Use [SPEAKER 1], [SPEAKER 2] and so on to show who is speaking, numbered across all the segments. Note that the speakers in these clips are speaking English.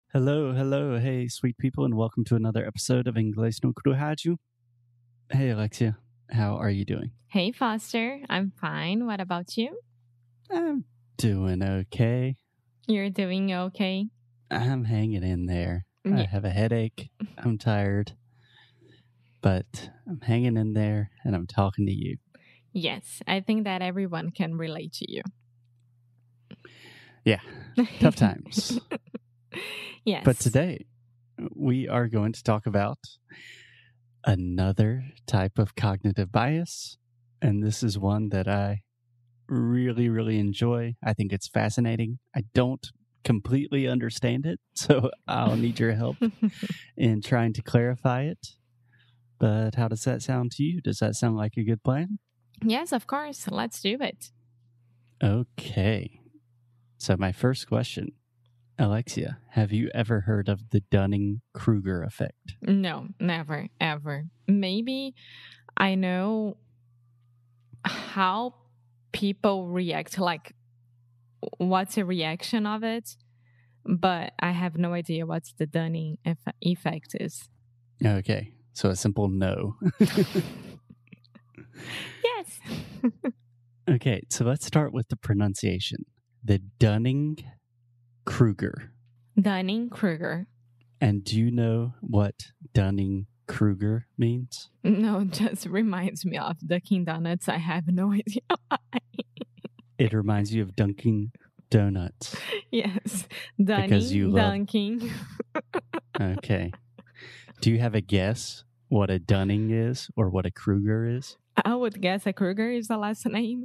[SPEAKER 1] Hello, hello, hey, sweet people, and welcome to another episode of Inglês no Rádio. Hey, Alexia, how are you doing?
[SPEAKER 2] Hey, Foster. I'm fine. What about you?
[SPEAKER 1] I'm doing okay.
[SPEAKER 2] You're doing okay?
[SPEAKER 1] I'm hanging in there. I
[SPEAKER 2] Yeah.
[SPEAKER 1] have a headache. I'm tired, but I'm hanging in there and I'm talking to you.
[SPEAKER 2] Yes, I think that everyone can relate to you.
[SPEAKER 1] Yeah, tough times.
[SPEAKER 2] Yes.
[SPEAKER 1] But today we are going to talk about another type of cognitive bias. And this is one that I really, really enjoy. I think it's fascinating. I don't completely understand it, so I'll need your help in trying to clarify it. But how does that sound to you? Does that sound like a good plan?
[SPEAKER 2] Yes, of course. Let's do it.
[SPEAKER 1] Okay. So my first question, Alexia, have you ever heard of the Dunning-Kruger effect?
[SPEAKER 2] No, never, ever. Maybe I know how people react, like what's a reaction of it, but I have no idea what the Dunning effect is.
[SPEAKER 1] Okay. So a simple no.
[SPEAKER 2] Yes.
[SPEAKER 1] Okay, so let's start with the pronunciation. The Dunning-Kruger.
[SPEAKER 2] Dunning-Kruger.
[SPEAKER 1] And do you know what Dunning-Kruger means?
[SPEAKER 2] No, just reminds me of Dunkin' Donuts. I have no idea why.
[SPEAKER 1] It reminds you of Dunkin' Donuts.
[SPEAKER 2] Yes,
[SPEAKER 1] Because you love-
[SPEAKER 2] Dunking.
[SPEAKER 1] Okay. Do you have a guess what a Dunning is or what a Kruger is?
[SPEAKER 2] I would guess a Kruger is the last name.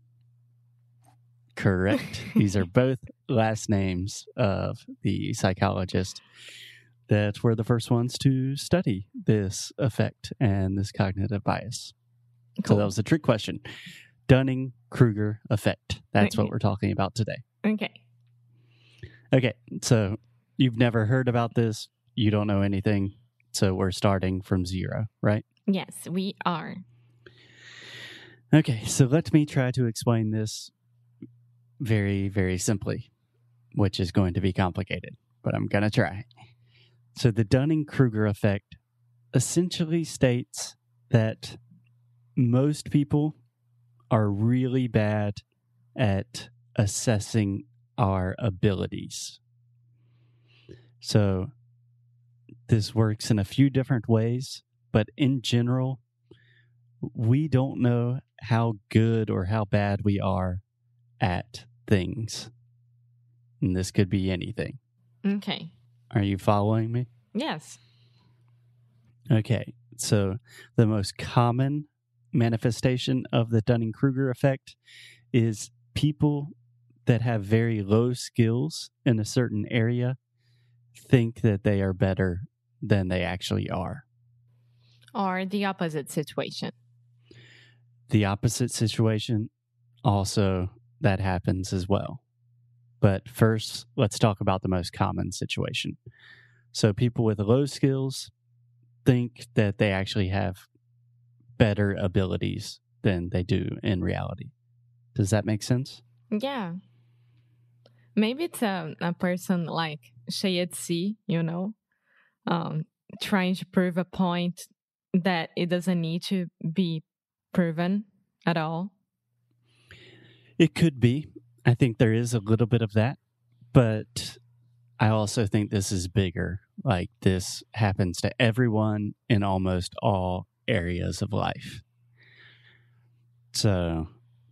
[SPEAKER 1] Correct. These are both last names of the psychologists that were the first ones to study this effect and this cognitive bias.
[SPEAKER 2] Cool.
[SPEAKER 1] So that was a trick question. Dunning-Kruger effect. That's what we're talking about today.
[SPEAKER 2] Okay.
[SPEAKER 1] Okay, so you've never heard about this. You don't know anything. So we're starting from zero, right?
[SPEAKER 2] Yes, we are.
[SPEAKER 1] Okay, so let me try to explain this very, very simply, which is going to be complicated, but I'm going to try. So the Dunning-Kruger effect essentially states that most people are really bad at assessing our abilities. So this works in a few different ways, but in general, we don't know how good or how bad we are at things. And this could be anything.
[SPEAKER 2] Okay.
[SPEAKER 1] Are you following me?
[SPEAKER 2] Yes.
[SPEAKER 1] Okay. So the most common manifestation of the Dunning-Kruger effect is people that have very low skills in a certain area think that they are better than they actually are.
[SPEAKER 2] Or the opposite situation.
[SPEAKER 1] The opposite situation, also, that happens as well. But first, let's talk about the most common situation. So people with low skills think that they actually have better abilities than they do in reality. Does that make sense?
[SPEAKER 2] Yeah. Maybe it's a person like Shayetsi, trying to prove a point that it doesn't need to be proven at all.
[SPEAKER 1] It could be. I think there is a little bit of that, but I also think this is bigger. Like this happens to everyone in almost all areas of life. So,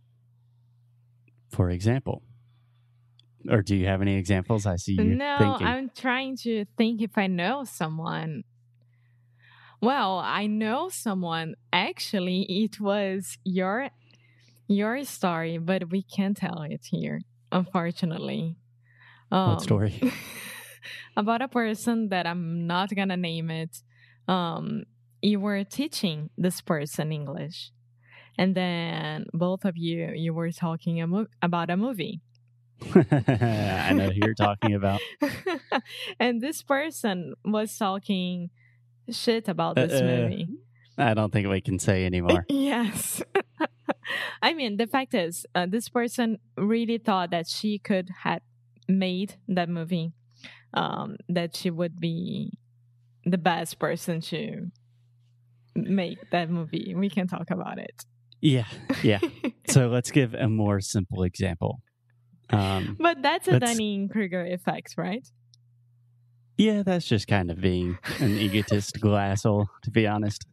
[SPEAKER 1] for example, or do you have any examples? I see you
[SPEAKER 2] No,
[SPEAKER 1] thinking.
[SPEAKER 2] I'm trying to think if I know someone. Well, I know someone. Actually, it was your story, but we can't tell it here, unfortunately.
[SPEAKER 1] What story?
[SPEAKER 2] About a person that I'm not gonna name it. You were teaching this person English, and then both of you were talking about a movie.
[SPEAKER 1] I know who you're talking about.
[SPEAKER 2] And this person was talking shit about this movie.
[SPEAKER 1] I don't think we can say anymore.
[SPEAKER 2] Yes. I mean, the fact is, this person really thought that she could have made that movie that she would be the best person to make that movie. We can talk about it.
[SPEAKER 1] Yeah. So let's give a more simple example.
[SPEAKER 2] But that's a Dunning-Kruger effect, right?
[SPEAKER 1] Yeah, that's just kind of being an egotistical asshole, to be honest.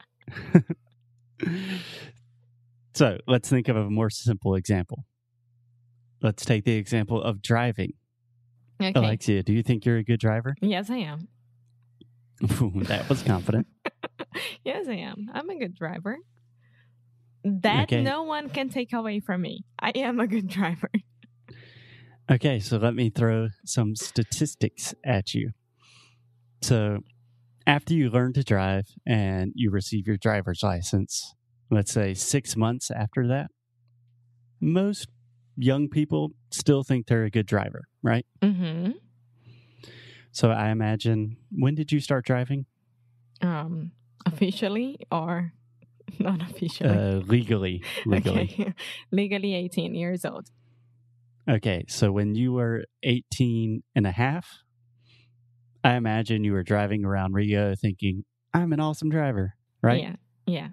[SPEAKER 1] So let's think of a more simple example. Let's take the example of driving.
[SPEAKER 2] Okay.
[SPEAKER 1] Alexia, do you think you're a good driver?
[SPEAKER 2] Yes, I am.
[SPEAKER 1] That was confident.
[SPEAKER 2] Yes, I am. I'm a good driver. That no one can take away from me. I am a good driver.
[SPEAKER 1] Okay, so let me throw some statistics at you. So after you learn to drive and you receive your driver's license, let's say 6 months after that, most young people still think they're a good driver, right?
[SPEAKER 2] Mm-hmm.
[SPEAKER 1] So I imagine, when did you start driving?
[SPEAKER 2] Officially or not officially?
[SPEAKER 1] Legally.
[SPEAKER 2] Okay. Legally 18 years old.
[SPEAKER 1] Okay, so when you were 18 and a half, I imagine you were driving around Rio thinking, I'm an awesome driver, right?
[SPEAKER 2] Yeah.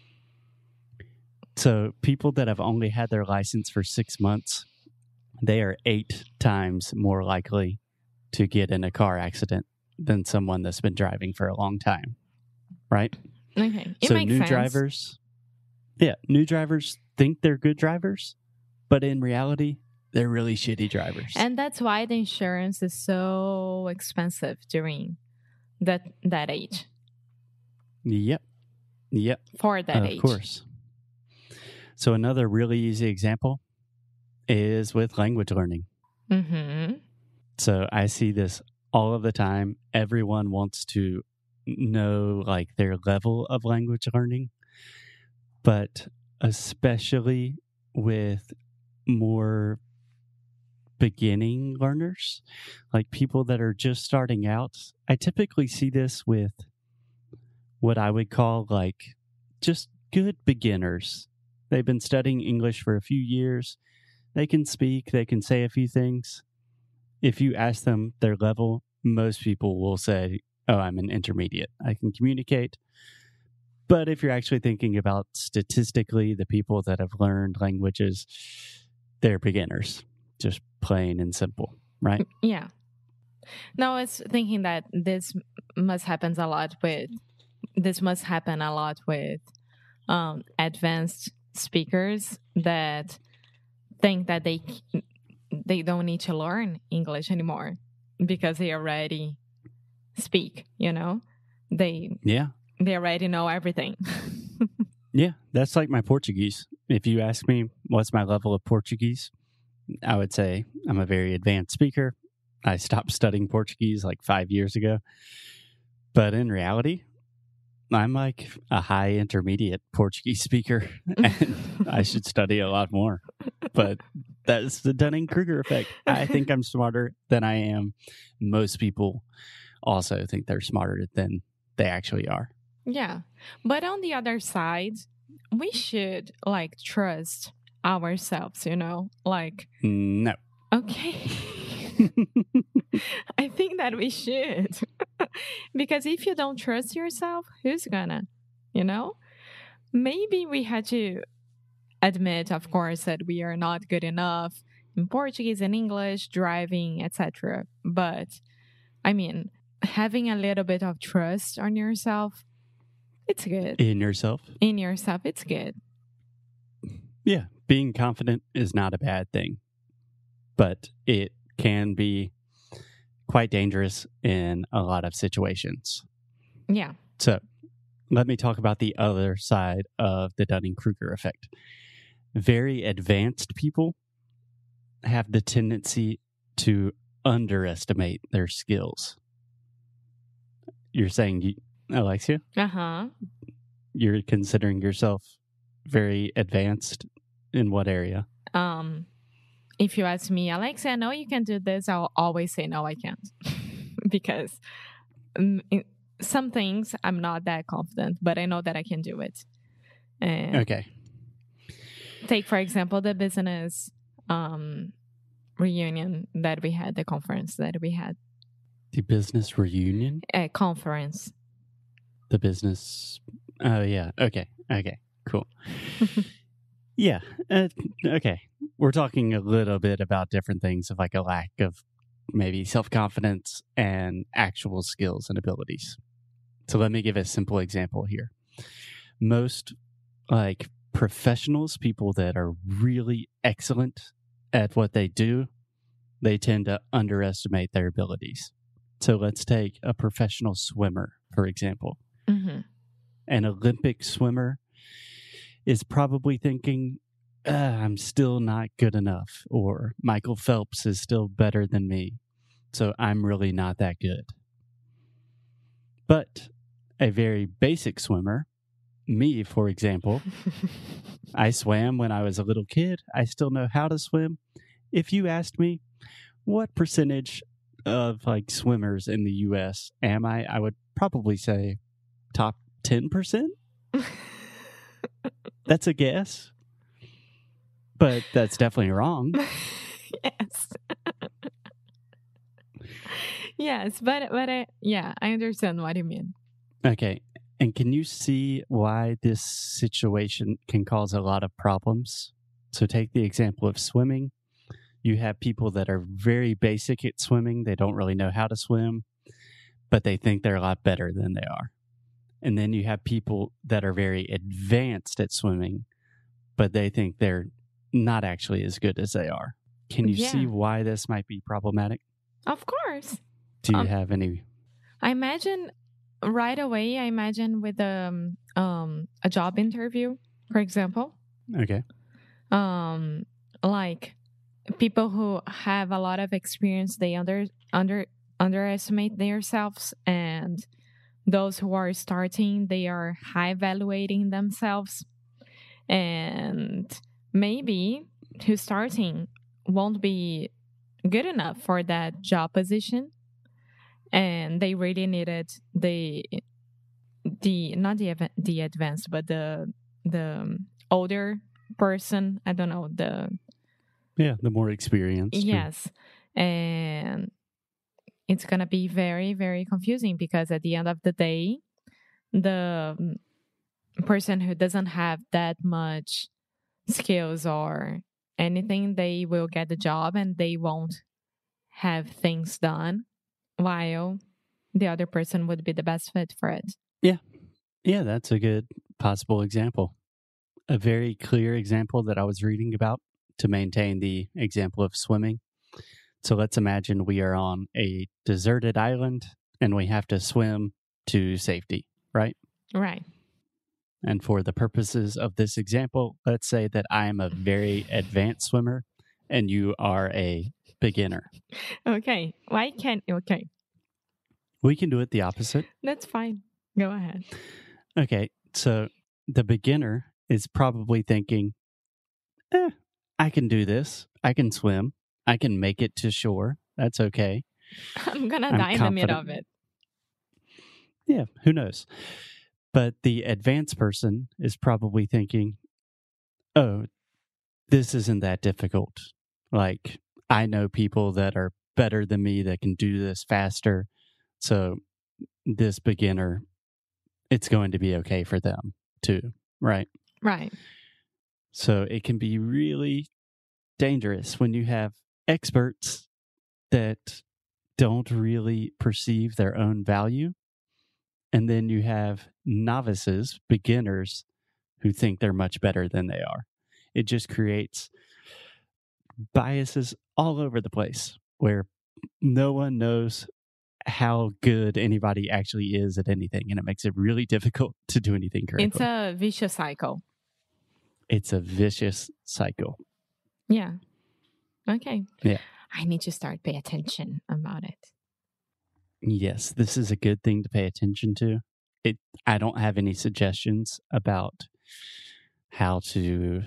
[SPEAKER 1] So people that have only had their license for 6 months, they are 8 times more likely to get in a car accident than someone that's been driving for a long time, right?
[SPEAKER 2] Okay,
[SPEAKER 1] so new drivers think they're good drivers, but in reality, they're really shitty drivers.
[SPEAKER 2] And that's why the insurance is so expensive during that age.
[SPEAKER 1] Yep.
[SPEAKER 2] For that age.
[SPEAKER 1] Of course. So another really easy example is with language learning.
[SPEAKER 2] Mm-hmm.
[SPEAKER 1] So I see this all of the time. Everyone wants to know like their level of language learning, but especially with more beginning learners, like people that are just starting out. I typically see this with what I would call like just good beginners. They've been studying English for a few years. They can speak, they can say a few things. If you ask them their level, most people will say, oh, I'm an intermediate. I can communicate. But if you're actually thinking about statistically, the people that have learned languages, they're beginners, just plain and simple, right?
[SPEAKER 2] Yeah. No, it's thinking that this must happen a lot with advanced speakers that think that they don't need to learn English anymore because they already speak, they already know everything.
[SPEAKER 1] Yeah, that's like my Portuguese. If you ask me what's my level of Portuguese, I would say I'm a very advanced speaker. I stopped studying Portuguese like 5 years ago. But in reality, I'm like a high intermediate Portuguese speaker, and I should study a lot more. But that's the Dunning-Kruger effect. I think I'm smarter than I am. Most people also think they're smarter than they actually are.
[SPEAKER 2] Yeah. But on the other side, we should trust ourselves, like.
[SPEAKER 1] No.
[SPEAKER 2] Okay. I think that we should. Because if you don't trust yourself, who's gonna? Maybe we had to admit, of course, that we are not good enough in Portuguese and English, driving, etc. But, I mean, having a little bit of trust on yourself, it's good.
[SPEAKER 1] In yourself,
[SPEAKER 2] it's good.
[SPEAKER 1] Yeah. Being confident is not a bad thing, but it can be quite dangerous in a lot of situations.
[SPEAKER 2] Yeah.
[SPEAKER 1] So let me talk about the other side of the Dunning-Kruger effect. Very advanced people have the tendency to underestimate their skills. You're saying, Alexia?
[SPEAKER 2] Uh-huh.
[SPEAKER 1] You're considering yourself very advanced in what area?
[SPEAKER 2] If you ask me, Alexia, I know you can do this, I'll always say, no, I can't. Because some things I'm not that confident, but I know that I can do it.
[SPEAKER 1] Okay.
[SPEAKER 2] Take, for example, the business reunion that we had, the conference that we had.
[SPEAKER 1] The business reunion?
[SPEAKER 2] Conference.
[SPEAKER 1] The business... Oh, yeah. Okay. Cool. Yeah. Okay. We're talking a little bit about different things of like a lack of maybe self-confidence and actual skills and abilities. So let me give a simple example here. Most like professionals, people that are really excellent at what they do, they tend to underestimate their abilities. So let's take a professional swimmer, for example.
[SPEAKER 2] Mm-hmm.
[SPEAKER 1] An Olympic swimmer is probably thinking, I'm still not good enough, or Michael Phelps is still better than me, so I'm really not that good. But a very basic swimmer, me, for example, I swam when I was a little kid. I still know how to swim. If you asked me what percentage of like swimmers in the US am I would probably say top 10%. That's a guess. But that's definitely wrong.
[SPEAKER 2] Yes. Yes, but I understand what you mean.
[SPEAKER 1] Okay. And can you see why this situation can cause a lot of problems? So take the example of swimming. You have people that are very basic at swimming. They don't really know how to swim, but they think they're a lot better than they are. And then you have people that are very advanced at swimming, but they think they're not actually as good as they are. Can you see why this might be problematic?
[SPEAKER 2] Of course.
[SPEAKER 1] Do you have any?
[SPEAKER 2] I imagine right away, with a job interview, for example.
[SPEAKER 1] Okay.
[SPEAKER 2] Like people who have a lot of experience, they underestimate themselves, and those who are starting, they are high evaluating themselves, and maybe who's starting won't be good enough for that job position, and they really needed the advanced, but the older person. I don't know, the
[SPEAKER 1] more experienced.
[SPEAKER 2] Yes, and it's gonna be very, very confusing because at the end of the day, the person who doesn't have that much skills or anything, they will get the job and they won't have things done, while the other person would be the best fit for it.
[SPEAKER 1] Yeah, that's a good possible example. A very clear example that I was reading about to maintain the example of swimming. So let's imagine we are on a deserted island and we have to swim to safety, right?
[SPEAKER 2] Right.
[SPEAKER 1] And for the purposes of this example, let's say that I am a very advanced swimmer and you are a beginner.
[SPEAKER 2] Okay. Okay.
[SPEAKER 1] We can do it the opposite.
[SPEAKER 2] That's fine. Go ahead.
[SPEAKER 1] Okay. So the beginner is probably thinking, I can do this. I can swim. I can make it to shore. That's okay.
[SPEAKER 2] I'm going to die in the middle of it.
[SPEAKER 1] Yeah, who knows? But the advanced person is probably thinking, oh, this isn't that difficult. Like, I know people that are better than me that can do this faster. So this beginner, it's going to be okay for them too, right?
[SPEAKER 2] Right.
[SPEAKER 1] So it can be really dangerous when you have experts that don't really perceive their own value. And then you have novices, beginners, who think they're much better than they are. It just creates biases all over the place where no one knows how good anybody actually is at anything. And it makes it really difficult to do anything correctly.
[SPEAKER 2] It's a vicious cycle.
[SPEAKER 1] It's a vicious cycle.
[SPEAKER 2] Yeah. Okay.
[SPEAKER 1] Yeah.
[SPEAKER 2] I need to start paying attention about it.
[SPEAKER 1] Yes, this is a good thing to pay attention to. I don't have any suggestions about how to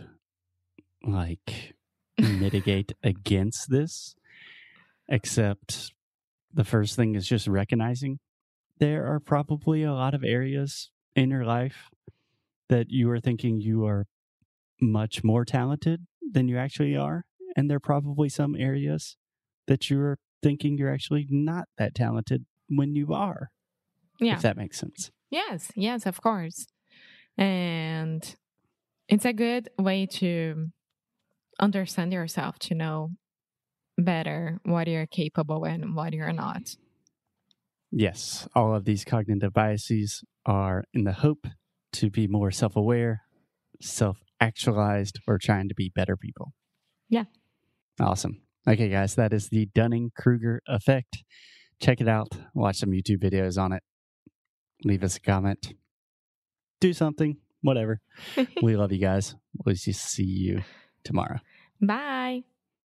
[SPEAKER 1] mitigate against this, except the first thing is just recognizing there are probably a lot of areas in your life that you are thinking you are much more talented than you actually are. And there are probably some areas that you're thinking you're actually not that talented when you are.
[SPEAKER 2] Yeah.
[SPEAKER 1] If that makes sense.
[SPEAKER 2] Yes, of course. And it's a good way to understand yourself, to know better what you're capable and what you're not.
[SPEAKER 1] Yes, all of these cognitive biases are in the hope to be more self-aware, self-actualized, or trying to be better people.
[SPEAKER 2] Yeah.
[SPEAKER 1] Awesome. Okay, guys, that is the Dunning-Kruger effect. Check it out. Watch some YouTube videos on it. Leave us a comment. Do something. Whatever. We love you guys. We'll just see you tomorrow.
[SPEAKER 2] Bye.